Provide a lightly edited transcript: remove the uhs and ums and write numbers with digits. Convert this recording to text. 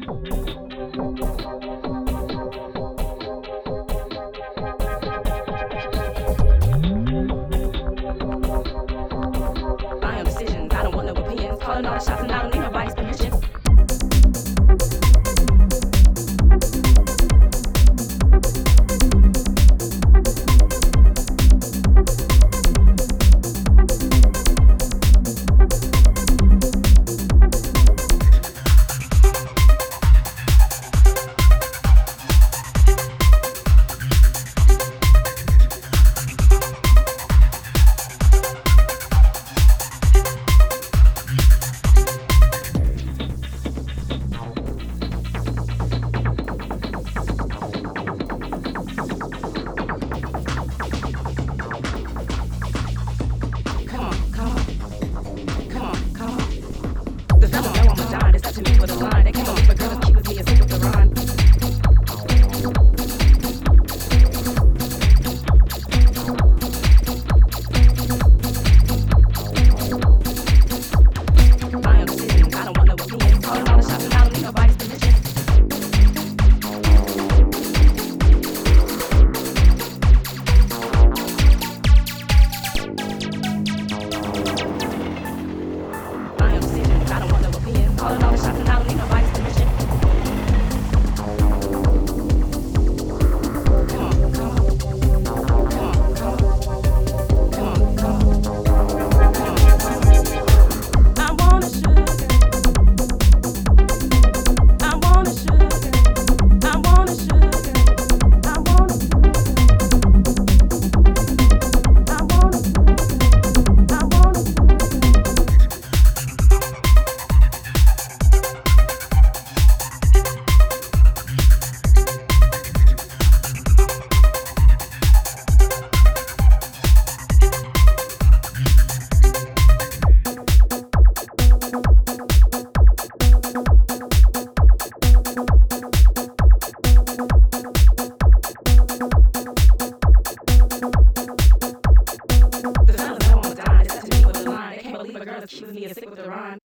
I am decisions, I don't want no opinions. Calling all the shots and I don't need nobody's permission. To me with a line that came on, but girl, keep with me and stick with the rhyme. I am decisions, I don't want no opinions. Calling all the shots and I don't need nobody's permission. I am decisions, I don't want no opinions. Calling all the shots and I don't need nobody's permission. Come on, come on. Come on, come on. Come on, come on. Come on. I want a sugar. I want a sugar. I want a sugar. I want a I want a I want a The fellas that wanna die, it's up to me with a line. They can't believe a girl that's cute as me and sick with the rhyme.